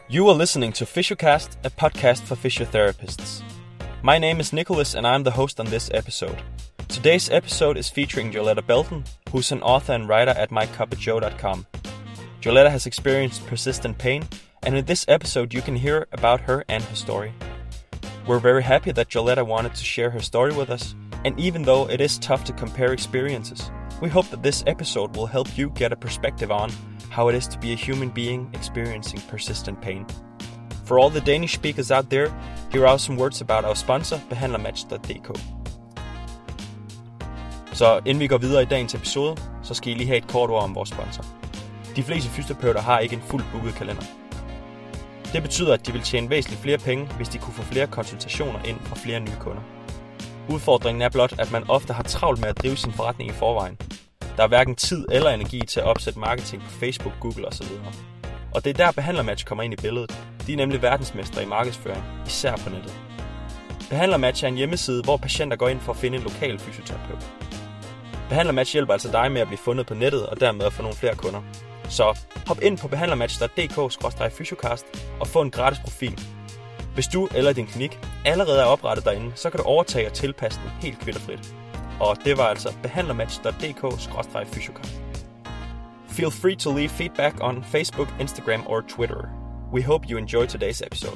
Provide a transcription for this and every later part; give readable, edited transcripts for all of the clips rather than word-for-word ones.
You are listening to PhysioCast, a podcast for physiotherapists. My name is Nicholas and I'm the host on this episode. Today's episode is featuring Joletta Belton, who's an author and writer at mycupofjoe.com. Joletta has experienced persistent pain, and in this episode you can hear about her and her story. We're very happy that Joletta wanted to share her story with us, and even though it is tough to compare experiences, we hope that this episode will help you get a perspective on how it is to be a human being experiencing persistent pain. For all the Danish speakers out there, here are some words about our sponsor, Behandlermatch.dk. Så inden vi går videre i dagens episode, så skal I lige have et kort ord om vores sponsor. De fleste fysioterapeuter har ikke en fuldt booket kalender. Det betyder, at de vil tjene væsentligt flere penge, hvis de kunne få flere konsultationer ind fra flere nye kunder. Udfordringen er blot, at man ofte har travlt med at drive sin forretning i forvejen. Der er hverken tid eller energi til at opsætte marketing på Facebook, Google osv. Og det er der Behandlermatch kommer ind i billedet. De er nemlig verdensmestre i markedsføring, især på nettet. Behandlermatch er en hjemmeside, hvor patienter går ind for at finde en lokal fysioterapeut. Behandlermatch hjælper altså dig med at blive fundet på nettet og dermed at få nogle flere kunder. Så hop ind på behandlermatch.dk/fysiocast og få en gratis profil. Hvis du eller din klinik allerede er oprettet derinde, så kan du overtage og tilpasse den helt kvitterfrit. Og det var altså behandlermatch.dk/fysiocast. Feel free to leave feedback on Facebook, Instagram or Twitter. We hope you enjoy today's episode.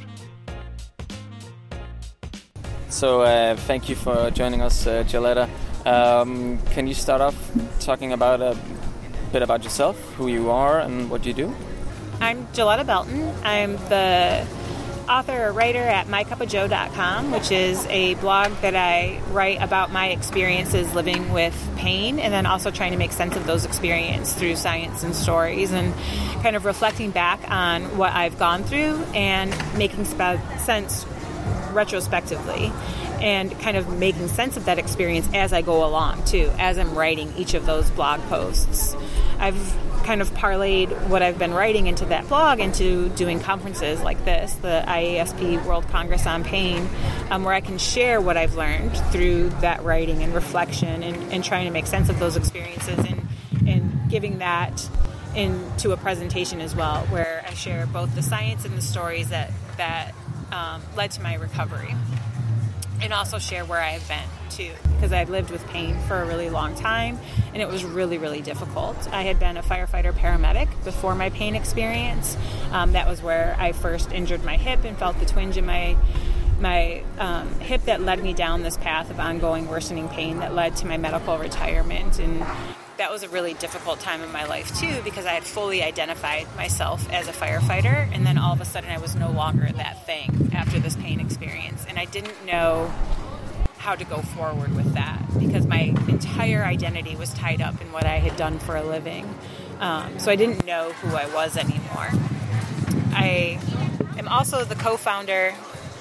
So thank you for joining us, Joletta. Can you start off talking about a bit about yourself, who you are and what you do? I'm Joletta Belton. I'm the author or writer at mycupofjoe.com, which is a blog that I write about my experiences living with pain and then also trying to make sense of those experiences through science and stories and kind of reflecting back on what I've gone through and making sense retrospectively and kind of making sense of that experience as I go along too, as I'm writing each of those blog posts. I've kind of parlayed what I've been writing into that blog into doing conferences like this, the IASP World Congress on Pain, where I can share what I've learned through that writing and reflection and trying to make sense of those experiences and giving that into a presentation as well, where I share both the science and the stories that led to my recovery. And also share where I've been, too, because I've lived with pain for a really long time, and it was really, really difficult. I had been a firefighter paramedic before my pain experience. That was where I first injured my hip and felt the twinge in my hip that led me down this path of ongoing worsening pain that led to my medical retirement. And that was a really difficult time in my life, too, because I had fully identified myself as a firefighter, and then all of a sudden I was no longer that thing after this pain experience. And I didn't know how to go forward with that because my entire identity was tied up in what I had done for a living. So I didn't know who I was anymore. I am also the co-founder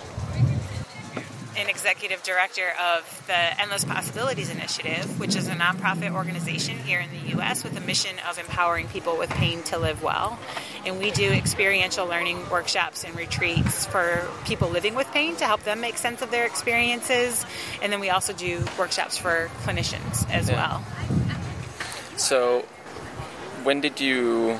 and executive director of the Endless Possibilities Initiative, which is a nonprofit organization here in the U.S. with a mission of empowering people with pain to live well. And we do experiential learning workshops and retreats for people living with pain to help them make sense of their experiences. And then we also do workshops for clinicians as well. So when did your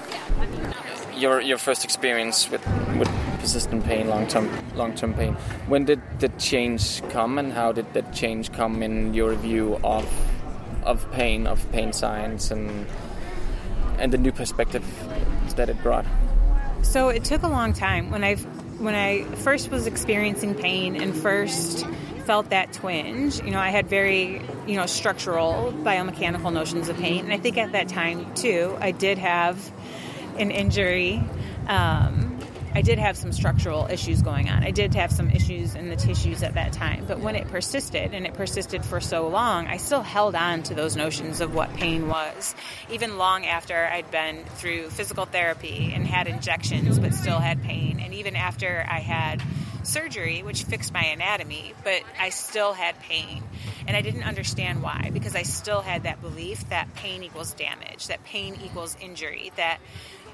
first experience with persistent pain, long-term pain, when did the change come, and how did that change come in your view of pain science and the new perspective that it brought? So it took a long time. When I first was experiencing pain and first felt that twinge, I had very, structural biomechanical notions of pain. And I think at that time too, I did have an injury. I did have some structural issues going on. I did have some issues in the tissues at that time. But when it persisted, and it persisted for so long, I still held on to those notions of what pain was. Even long after I'd been through physical therapy and had injections but still had pain. And even after I had surgery, which fixed my anatomy, but I still had pain. And I didn't understand why, because I still had that belief that pain equals damage, that pain equals injury, that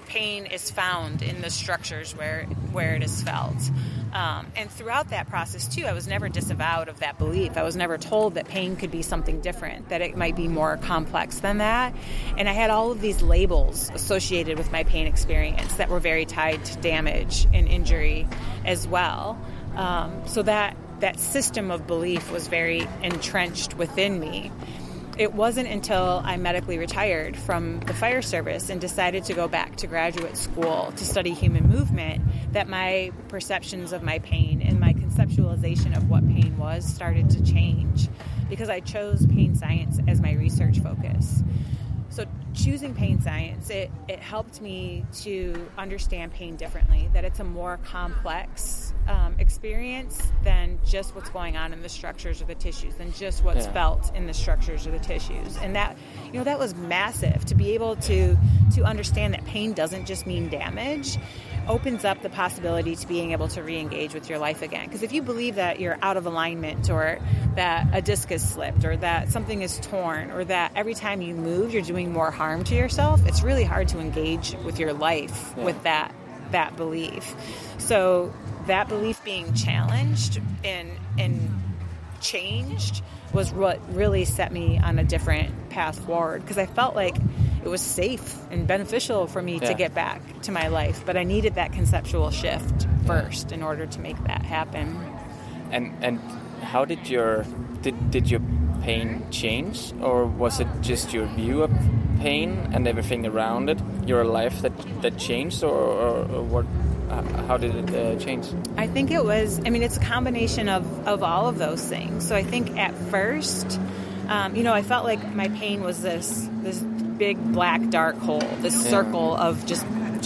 pain is found in the structures where it is felt. And throughout that process, too, I was never disavowed of that belief. I was never told that pain could be something different, that it might be more complex than that. And I had all of these labels associated with my pain experience that were very tied to damage and injury as well. So that system of belief was very entrenched within me. It wasn't until I medically retired from the fire service and decided to go back to graduate school to study human movement that my perceptions of my pain and my conceptualization of what pain was started to change, because I chose pain science as my research focus. So choosing pain science, it helped me to understand pain differently, that it's a more complex experience than just what's going on in the structures or the tissues, than just what's felt in the structures or the tissues. And that, that was massive, to be able to understand that pain doesn't just mean damage, opens up the possibility to being able to re-engage with your life again. Because if you believe that you're out of alignment, or that a disc is slipped, or that something is torn, or that every time you move you're doing more harm to yourself, it's really hard to engage with your life with that belief. So that belief being challenged and changed was what really set me on a different path forward, because I felt like it was safe and beneficial for me to get back to my life, but I needed that conceptual shift first in order to make that happen. And how did your pain change, or was it just your view of pain and everything around it, your life that changed, or what? How did it change? I think it was, it's a combination of all of those things. So I think at first, I felt like my pain was this big black dark hole, this circle of just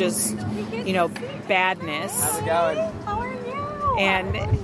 badness. How's it going? How are you? And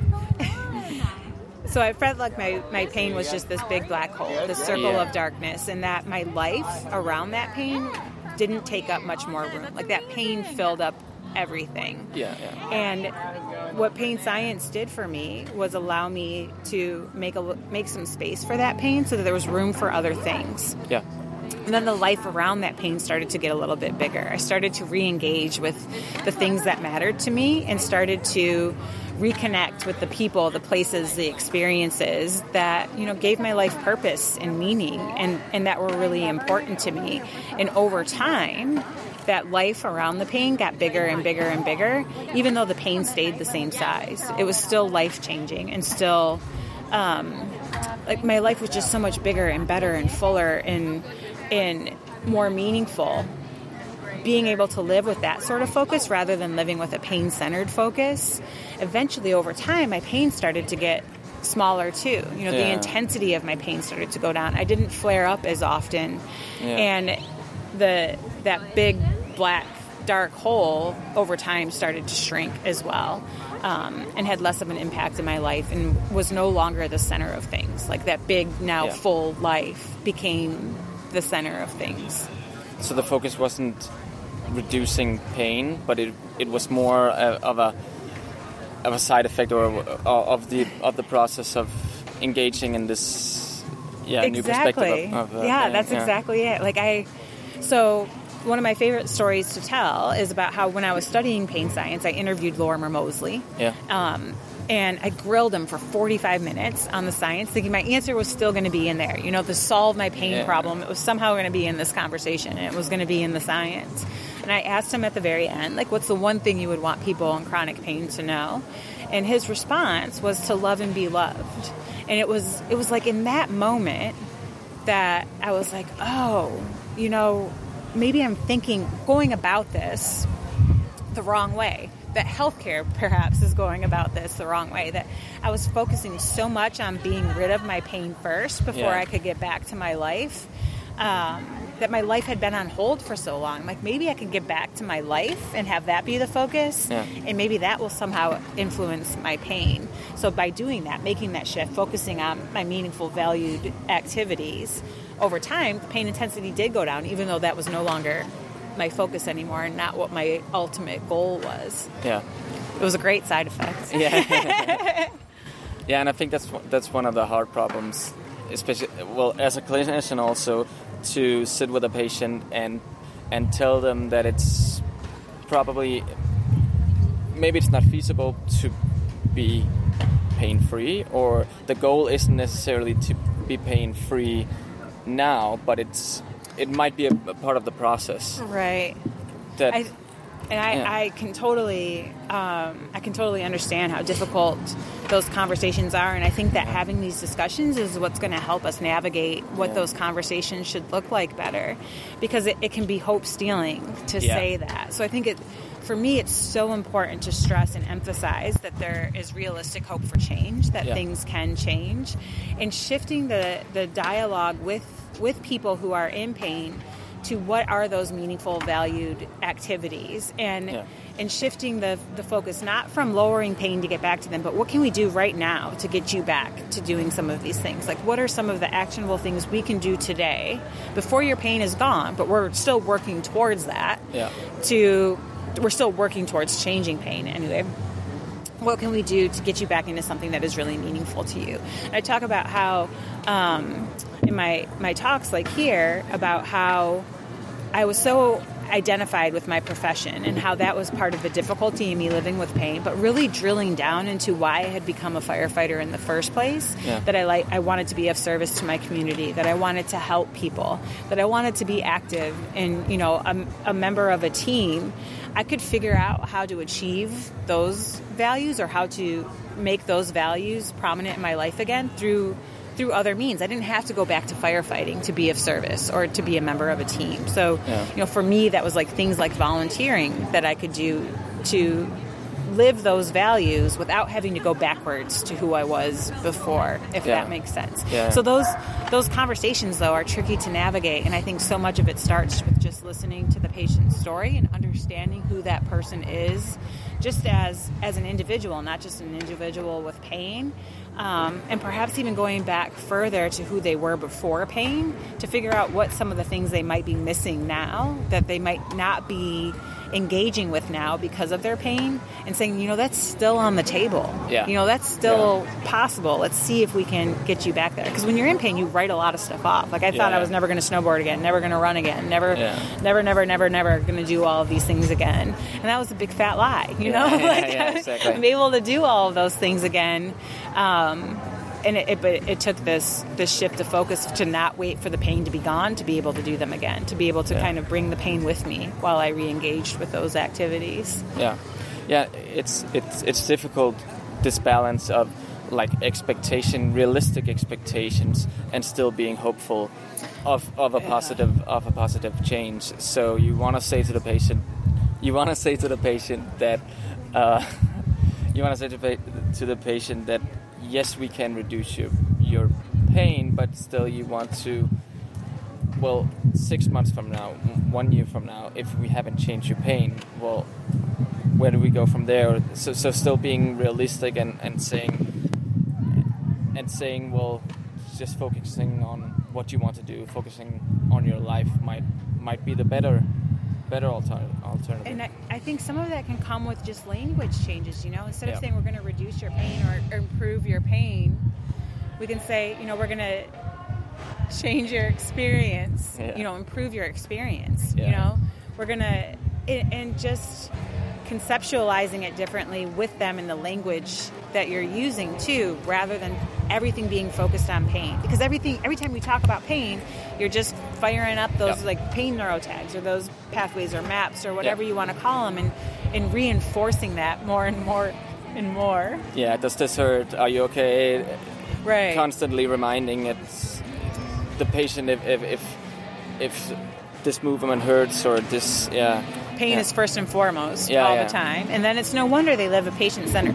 so I felt like my pain was just this big black hole, this circle of darkness, and that my life around that pain didn't take up much more room. Like that pain filled up everything. And what pain science did for me was allow me to make some space for that pain, so that there was room for other things. And then the life around that pain started to get a little bit bigger. I started to re-engage with the things that mattered to me, and started to reconnect with the people, the places, the experiences that, gave my life purpose and meaning, and that were really important to me. And over time, that life around the pain got bigger and bigger and bigger, even though the pain stayed the same size. It was still life-changing, and still, my life was just so much bigger and better and fuller and more meaningful. Being able to live with that sort of focus rather than living with a pain-centered focus. Eventually, over time, my pain started to get smaller too. The intensity of my pain started to go down. I didn't flare up as often. And that big black dark hole over time started to shrink as well, and had less of an impact in my life, and was no longer the center of things. Like that big, now full life became the center of things. So the focus wasn't reducing pain, but it was more of a side effect, or of the process of engaging in this new perspective of pain. That's exactly it. So one of my favorite stories to tell is about how, when I was studying pain science, I interviewed Lorimer Moseley. And I grilled him for 45 minutes on the science, thinking my answer was still going to be in there. To solve my pain problem, it was somehow going to be in this conversation, and it was going to be in the science. And I asked him at the very end, what's the one thing you would want people in chronic pain to know? And his response was to love and be loved. And it was like in that moment that I was like, maybe I'm going about this the wrong way. That healthcare perhaps is going about this the wrong way. That I was focusing so much on being rid of my pain first before I could get back to my life. That my life had been on hold for so long. Maybe I can get back to my life and have that be the focus, and maybe that will somehow influence my pain. So by doing that, making that shift, focusing on my meaningful, valued activities, over time, the pain intensity did go down, even though that was no longer my focus anymore, and not what my ultimate goal was. It was a great side effect. And I think that's one of the hard problems, especially as a clinician also, to sit with a patient and and tell them that it's probably, maybe it's not feasible to be pain-free, or the goal isn't necessarily to be pain-free now, but it might be a part of the process. Right. I can totally understand how difficult those conversations are, and I think that having these discussions is what's going to help us navigate what those conversations should look like better, because it can be hope stealing to say that. So I think for me, it's so important to stress and emphasize that there is realistic hope for change, that things can change, and shifting the dialogue with people who are in pain to what are those meaningful, valued activities, and shifting the focus not from lowering pain to get back to them, but what can we do right now to get you back to doing some of these things? Like, what are some of the actionable things we can do today before your pain is gone, but we're still working towards that. We're still working towards changing pain anyway. What can we do to get you back into something that is really meaningful to you? And I talk about how, in my talks like here, about how I was so identified with my profession and how that was part of the difficulty in me living with pain, but really drilling down into why I had become a firefighter in the first place, that I wanted to be of service to my community, that I wanted to help people, that I wanted to be active and, a member of a team. I could figure out how to achieve those values or how to make those values prominent in my life again through other means. I didn't have to go back to firefighting to be of service or to be a member of a team. So, for me, that was like things like volunteering that I could do to live those values without having to go backwards to who I was before, if that makes sense. So those conversations, though, are tricky to navigate, and I think so much of it starts with just listening to the patient's story and understanding who that person is, just as an individual, not just an individual with pain, and perhaps even going back further to who they were before pain to figure out what some of the things they might be missing now that they might not be engaging with now because of their pain, and saying, that's still on the table. That's still possible. Let's see if we can get you back there. Because when you're in pain, you write a lot of stuff off. Like, I thought I was never going to snowboard again, never going to run again, never going to do all of these things again. And that was a big fat lie, Exactly. I'm able to do all of those things again. And it took this shift of focus to not wait for the pain to be gone, to be able to do them again, to be able to kind of bring the pain with me while I re-engaged with those activities. It's difficult, this balance of like realistic expectations, and still being hopeful of a positive change. So you want to say to the patient that yes, we can reduce your pain, but still you want to, 6 months from now, 1 year from now, if we haven't changed your pain, where do we go from there? So still being realistic and saying, just focusing on what you want to do, focusing on your life might be the better alternative. And I think some of that can come with just language changes, Instead of saying we're going to reduce your pain or improve your pain, we can say, we're going to change your experience, improve your experience, We're going to, and just conceptualizing it differently with them in the language that you're using too, rather than everything being focused on pain. Because every time we talk about pain, you're just firing up those like pain neurotags or those pathways or maps or whatever you want to call them, and reinforcing that more and more and more. Yeah, does this hurt? Are you okay? Right. Constantly reminding the patient if this movement hurts or this. Pain is first and foremost all the time, and then it's no wonder they live a pain-centered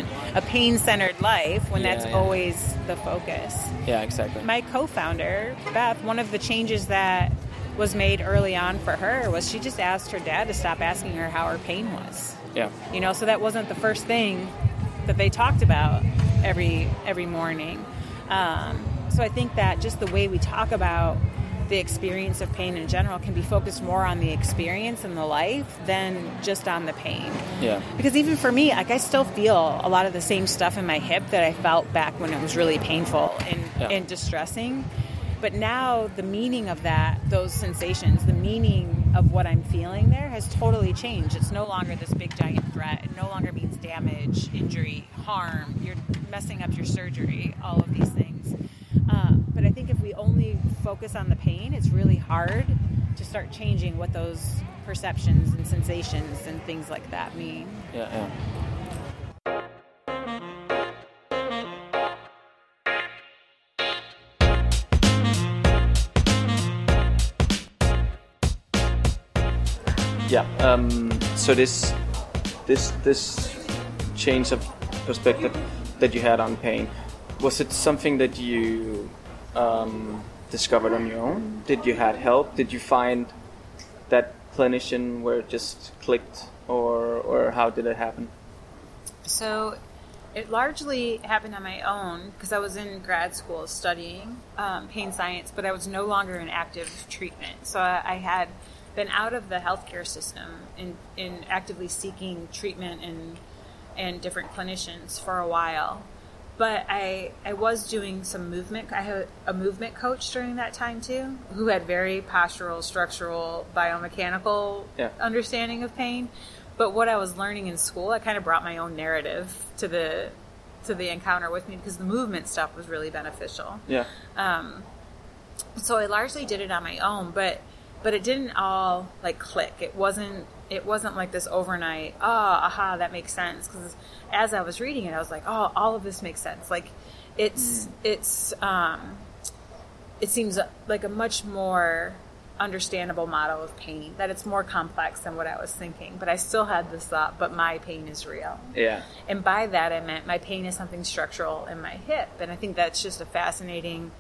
life when that's always the focus. Yeah, exactly. My co-founder, Beth, one of the changes that was made early on for her was she just asked her dad to stop asking her how her pain was. Yeah. So that wasn't the first thing that they talked about every morning. So I think that just the way we talk about the experience of pain in general can be focused more on the experience and the life than just on the pain. Yeah. Because even for me, I still feel a lot of the same stuff in my hip that I felt back when it was really painful and distressing. But now the meaning of those sensations, the meaning of what I'm feeling there has totally changed. It's no longer this big giant threat. It no longer means damage, injury, harm. You're messing up your surgery, all of these things. But I think if we only focus on the pain, it's really hard to start changing what those perceptions and sensations and things like that mean. Yeah. So this change of perspective that you had on pain, was it something that you discovered on your own? Did you had help? Did you find that clinician where it just clicked, or how did it happen? So it largely happened on my own because I was in grad school studying pain science, but I was no longer in active treatment. So I had been out of the healthcare system in actively seeking treatment and different clinicians for a while. But I was doing some movement. I had a movement coach during that time too, who had very postural, structural, biomechanical understanding of pain. But what I was learning in school, I kind of brought my own narrative to the encounter with me because the movement stuff was really beneficial. Yeah. So I largely did it on my own, but it didn't all like click. It wasn't like this overnight, that makes sense. Because as I was reading it, I was like, all of this makes sense. Like it seems like a much more understandable model of pain, that it's more complex than what I was thinking. But I still had this thought, but my pain is real. Yeah. And by that I meant my pain is something structural in my hip. And I think that's just a fascinating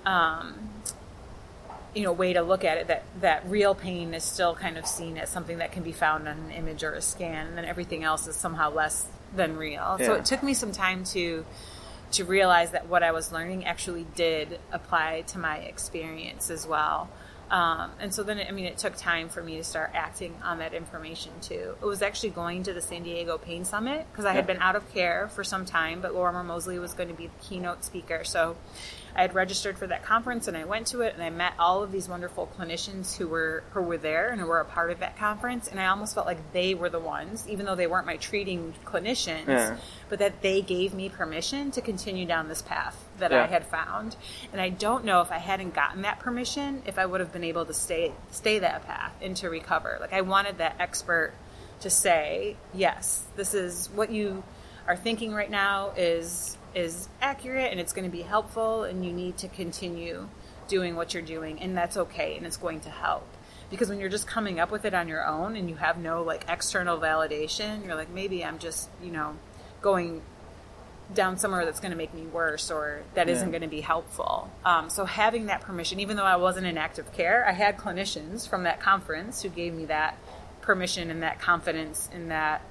way to look at it, that real pain is still kind of seen as something that can be found on an image or a scan, and then everything else is somehow less than real. Yeah. So it took me some time to realize that what I was learning actually did apply to my experience as well. And so then, it took time for me to start acting on that information too. It was actually going to the San Diego Pain Summit because I had been out of care for some time, but Lorimer Moseley was going to be the keynote speaker. So I had registered for that conference and I went to it and I met all of these wonderful clinicians who were there and who were a part of that conference. And I almost felt like they were the ones, even though they weren't my treating clinicians, but that they gave me permission to continue down this path that I had found. And I don't know if I hadn't gotten that permission, if I would have been able to stay that path and to recover. Like I wanted that expert to say, yes, this is what you are thinking right now is accurate and it's going to be helpful and you need to continue doing what you're doing and that's okay and it's going to help. Because when you're just coming up with it on your own and you have no like external validation, you're like, maybe I'm just, going down somewhere that's going to make me worse or that isn't going to be helpful. So having that permission, even though I wasn't in active care, I had clinicians from that conference who gave me that permission and that confidence and that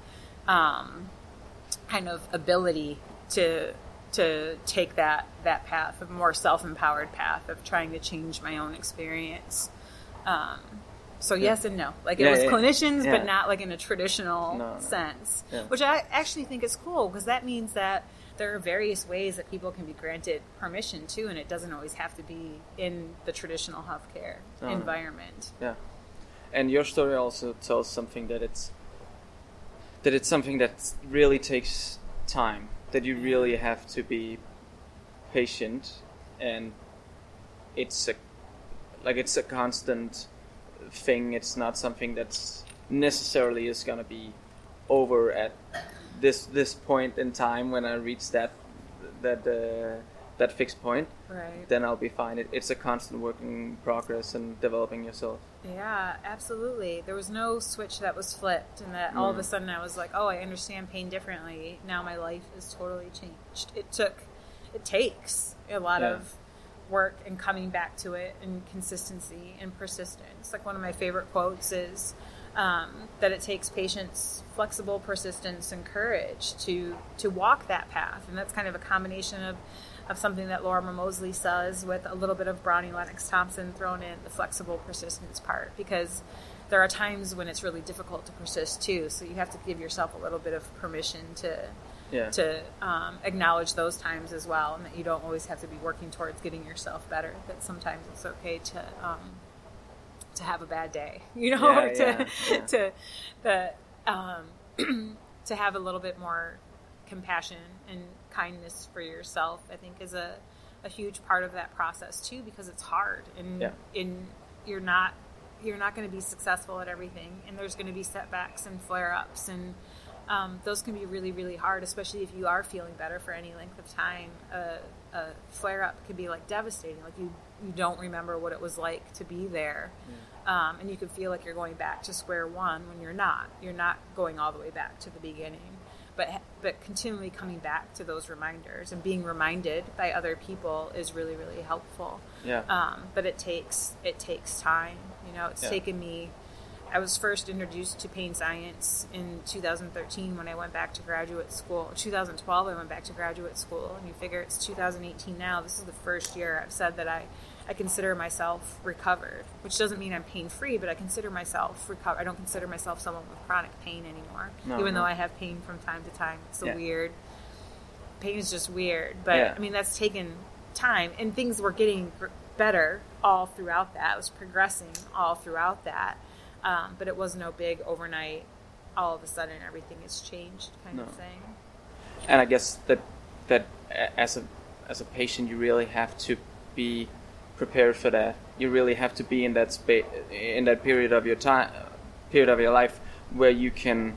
kind of ability to take that path, a more self-empowered path of trying to change my own experience. So yes and no. Like it was clinicians, but not like in a traditional sense, which I actually think is cool because that means that there are various ways that people can be granted permission too, and it doesn't always have to be in the traditional healthcare environment. Yeah, and your story also tells something that it's something that really takes time. That you really have to be patient, and it's a constant thing. It's not something that's necessarily is going to be over at this point in time when I reach that fixed point. Right. Then I'll be fine. It's a constant work in progress and developing yourself. Yeah, absolutely. There was no switch that was flipped and that all of a sudden I was like, I understand pain differently. Now my life is totally changed. It takes a lot of work and coming back to it and consistency and persistence. Like one of my favorite quotes is that it takes patience, flexible persistence, and courage to walk that path. And that's kind of a combination of something that Lorimer Moseley says with a little bit of Brownie Lennox Thompson thrown in, the flexible persistence part, because there are times when it's really difficult to persist too. So you have to give yourself a little bit of permission to acknowledge those times as well, and that you don't always have to be working towards getting yourself better. That sometimes it's okay to have a bad day, to have a little bit more compassion and kindness for yourself, I think is a huge part of that process too, because it's hard and you're not going to be successful at everything, and there's going to be setbacks and flare-ups, and those can be really, really hard, especially if you are feeling better for any length of time. A flare-up can be like devastating, like you don't remember what it was like to be there, and you can feel like you're going back to square one when you're not going all the way back to the beginning, but continually coming back to those reminders and being reminded by other people is really, really helpful. But it takes time. It's taken me. I was first introduced to pain science in 2013 when I went back to graduate school. 2012 I went back to graduate school, and you figure it's 2018 now. This is the first year I've said that I consider myself recovered, which doesn't mean I'm pain-free, but I consider myself recovered. I don't consider myself someone with chronic pain anymore, even though I have pain from time to time. It's so weird. Pain is just weird, but I mean, that's taken time, and things were getting better all throughout that. It was progressing all throughout that. But it was no big overnight, all of a sudden everything has changed kind of thing. And I guess that as a patient, you really have to be prepared for that. You really have to be in that in that period of your life where you can,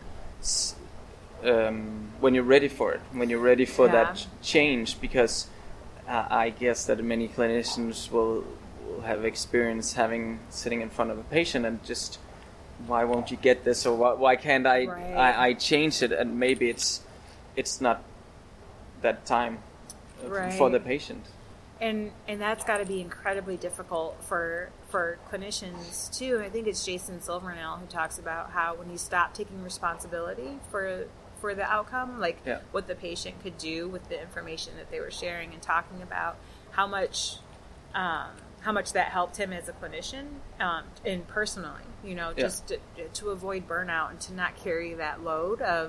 when you're ready for it, when you're ready for that change, because I guess that many clinicians will have experience sitting in front of a patient and just, why won't you get this, or why can't I change it? And maybe it's not that time for the patient. And that's got to be incredibly difficult for clinicians too. And I think it's Jason Silvernail who talks about how when you stop taking responsibility for the outcome, what the patient could do with the information that they were sharing and talking about, how much that helped him as a clinician, and personally, just to avoid burnout and to not carry that load of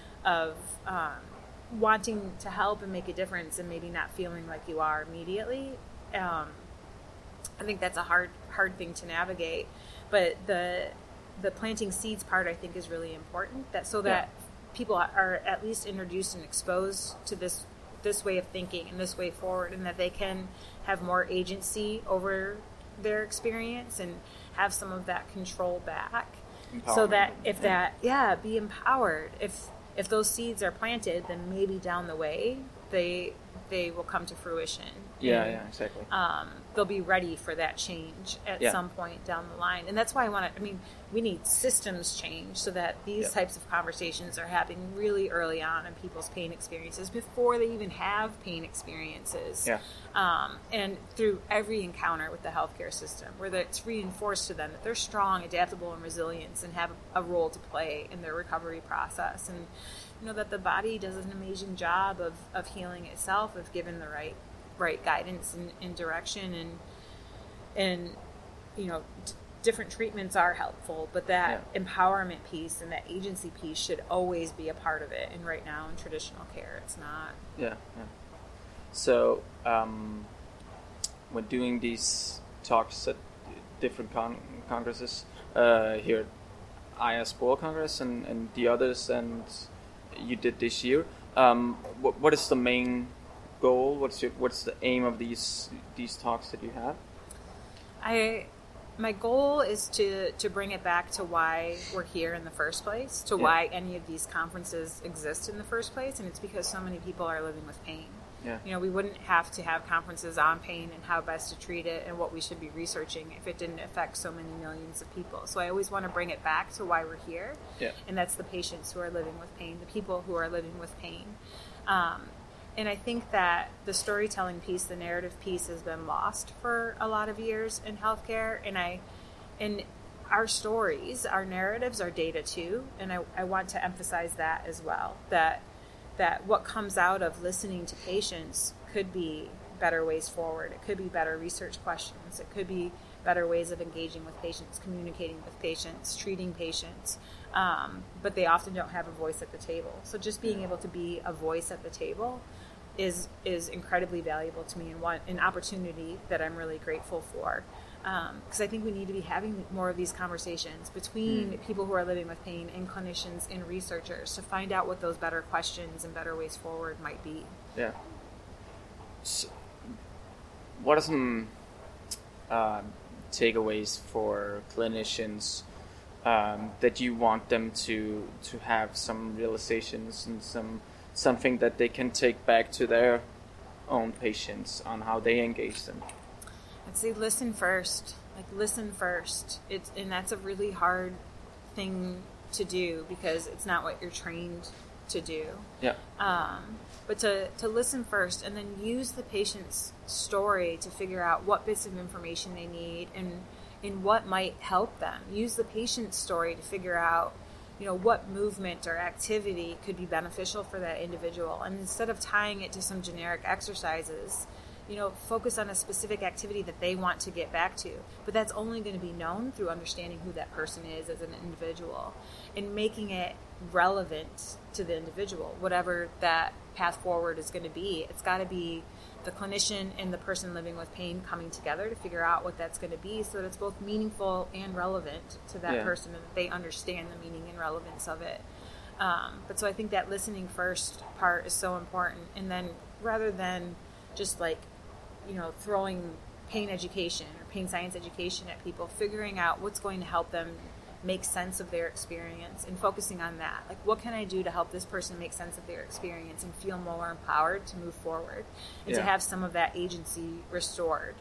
wanting to help and make a difference and maybe not feeling like you are immediately. I think that's a hard thing to navigate, but the planting seeds part I think is really important, that people are at least introduced and exposed to this way of thinking and this way forward, and that they can have more agency over their experience and have some of that control back, so that be empowered. If those seeds are planted, then maybe down the way they will come to fruition. Exactly. They'll be ready for that change at some point down the line. And that's why we need systems change so that these types of conversations are happening really early on in people's pain experiences before they even have pain experiences. And through every encounter with the healthcare system, where it's reinforced to them that they're strong, adaptable, and resilient, and have a role to play in their recovery process. And that the body does an amazing job of healing itself if given the right guidance and direction, and different treatments are helpful, but that empowerment piece and that agency piece should always be a part of it. And right now in traditional care, it's not. So when doing these talks at different congresses, here at IASPOR Congress and the others, and you did this year, what is the main goal? What's the aim of these talks that you have? My goal is to bring it back to why we're here in the first place, to why any of these conferences exist in the first place, and it's because so many people are living with pain. We wouldn't have to have conferences on pain and how best to treat it and what we should be researching if it didn't affect so many millions of people. So I always want to bring it back to why we're here, and that's the patients who are living with pain, the people who are living with pain. And I think that the storytelling piece, the narrative piece, has been lost for a lot of years in healthcare. And our stories, our narratives are data too. And I want to emphasize that as well, that what comes out of listening to patients could be better ways forward. It could be better research questions. It could be better ways of engaging with patients, communicating with patients, treating patients. But they often don't have a voice at the table. So just being able to be a voice at the table is incredibly valuable to me, and an opportunity that I'm really grateful for. Because I think we need to be having more of these conversations between people who are living with pain and clinicians and researchers to find out what those better questions and better ways forward might be. Yeah. So, what are some takeaways for clinicians that you want them to have some realizations and something that they can take back to their own patients on how they engage them? I'd say listen first. Listen first. And that's a really hard thing to do because it's not what you're trained to do. Yeah. But to listen first and then use the patient's story to figure out what bits of information they need and what might help them. Use the patient's story to figure out, what movement or activity could be beneficial for that individual. And instead of tying it to some generic exercises, focus on a specific activity that they want to get back to. But that's only going to be known through understanding who that person is as an individual and making it relevant to the individual, whatever that path forward is going to be. It's got to be the clinician and the person living with pain coming together to figure out what that's going to be so that it's both meaningful and relevant to that person and that they understand the meaning and relevance of it. But so I think that listening first part is so important. And then rather than just throwing pain education or pain science education at people, figuring out what's going to help them make sense of their experience and focusing on that. What can I do to help this person make sense of their experience and feel more empowered to move forward and to have some of that agency restored,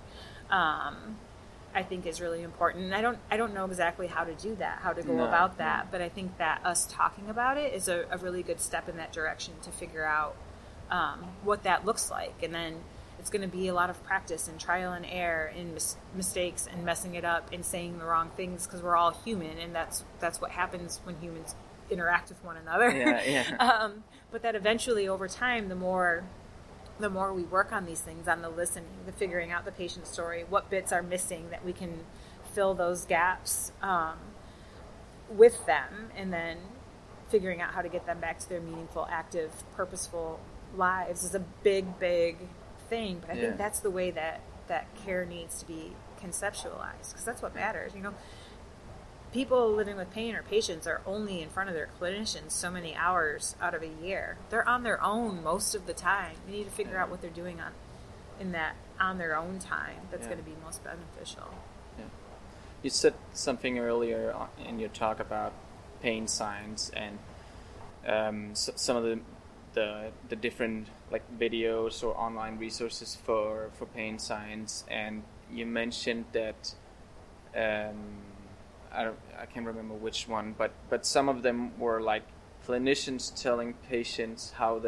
I think is really important. And I don't know exactly how to do that, how to go about that, but I think that us talking about it is a really good step in that direction to figure out what that looks like. And then it's going to be a lot of practice and trial and error and mistakes and messing it up and saying the wrong things because we're all human, and that's what happens when humans interact with one another. But that eventually over time, the more we work on these things, on the listening, the figuring out the patient's story, what bits are missing that we can fill those gaps with them, and then figuring out how to get them back to their meaningful, active, purposeful lives is a big thing. But I think that's the way that care needs to be conceptualized, because that's what matters. People living with pain or patients are only in front of their clinicians so many hours out of a year. They're on their own most of the time. You need to figure out what they're doing on their own time that's going to be most beneficial. Yeah. You said something earlier in your talk about pain science and some of the different videos or online resources for pain science, and you mentioned that I can't remember which one, but some of them were clinicians telling patients how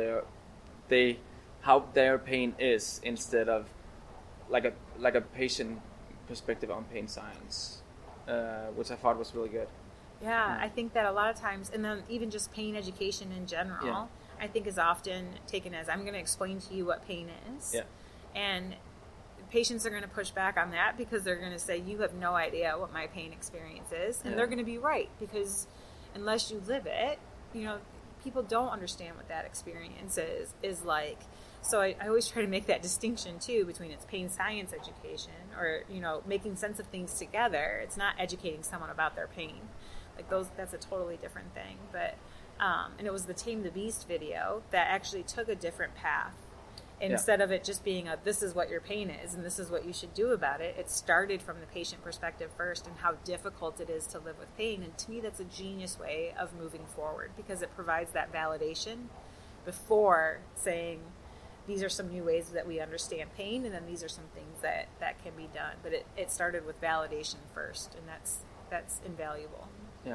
their pain is instead of like a patient perspective on pain science, which I thought was really good. Yeah, I think that a lot of times, and then even just pain education in general, I think is often taken as, I'm going to explain to you what pain is. Yeah. And patients are going to push back on that because they're going to say, you have no idea what my pain experience is. And they're going to be right, because unless you live it, people don't understand what that experience is like. So I always try to make that distinction too between it's pain science education or, making sense of things together. It's not educating someone about their pain. That's a totally different thing. But and it was the Tame the Beast video that actually took a different path. Instead of it just being this is what your pain is and this is what you should do about it, it started from the patient perspective first and how difficult it is to live with pain. And to me, that's a genius way of moving forward, because it provides that validation before saying, these are some new ways that we understand pain, and then these are some things that can be done. But it started with validation first, and that's invaluable. Yeah.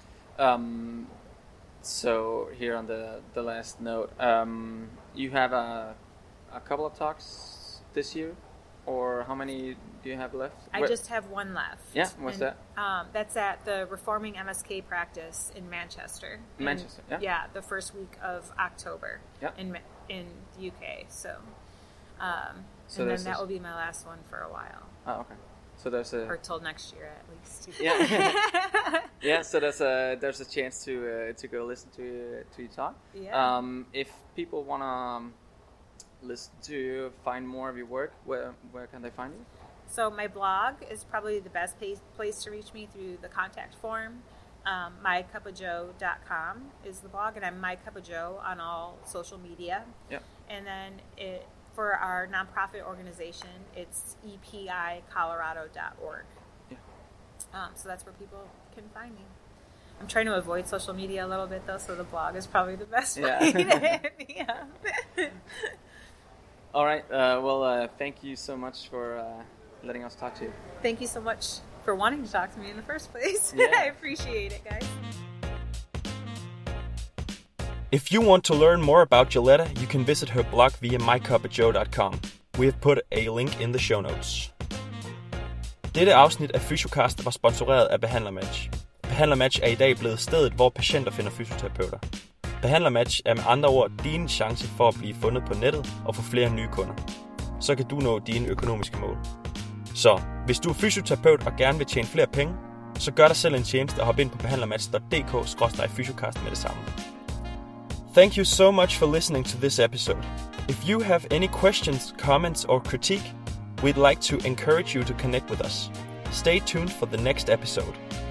So here on the last note, you have a couple of talks this year, or how many do you have left? I just have one left. Yeah, what's that? That's at the Reforming MSK Practice in Manchester. Manchester, yeah. Yeah, the first week of October. Yeah. In the UK. So and then that will be my last one for a while. Oh, okay. So there's or till next year at least. Yeah. Yeah. So there's a chance to go listen to you talk. Yeah. If people wanna listen to you, find more of your work, where can they find you? So my blog is probably the best place to reach me through the contact form. MyCupOfJoe.com is the blog, and I'm MyCupOfJoe on all social media. Yep. And then for our nonprofit organization, it's epicolorado.org. Yeah. So that's where people can find me. I'm trying to avoid social media a little bit, though, so the blog is probably the best way to hit me up. All right. Thank you so much for letting us talk to you. Thank you so much for wanting to talk to me in the first place. Yeah. I appreciate it, guys. If you want to learn more about Joletta, you can visit her blog via mycupofjoe.com. We have put a link in the show notes. Dette afsnit af Fysiocast var sponsoreret af BehandlerMatch. BehandlerMatch er i dag blevet stedet, hvor patienter finder fysioterapeuter. BehandlerMatch er med andre ord din chance for at blive fundet på nettet og få flere nye kunder. Så kan du nå dine økonomiske mål. Så hvis du er fysioterapeut og gerne vil tjene flere penge, så gør dig selv en tjeneste og hop ind på behandlermatch.dk/fysiocast med det samme. Thank you so much for listening to this episode. If you have any questions, comments, or critique, we'd like to encourage you to connect with us. Stay tuned for the next episode.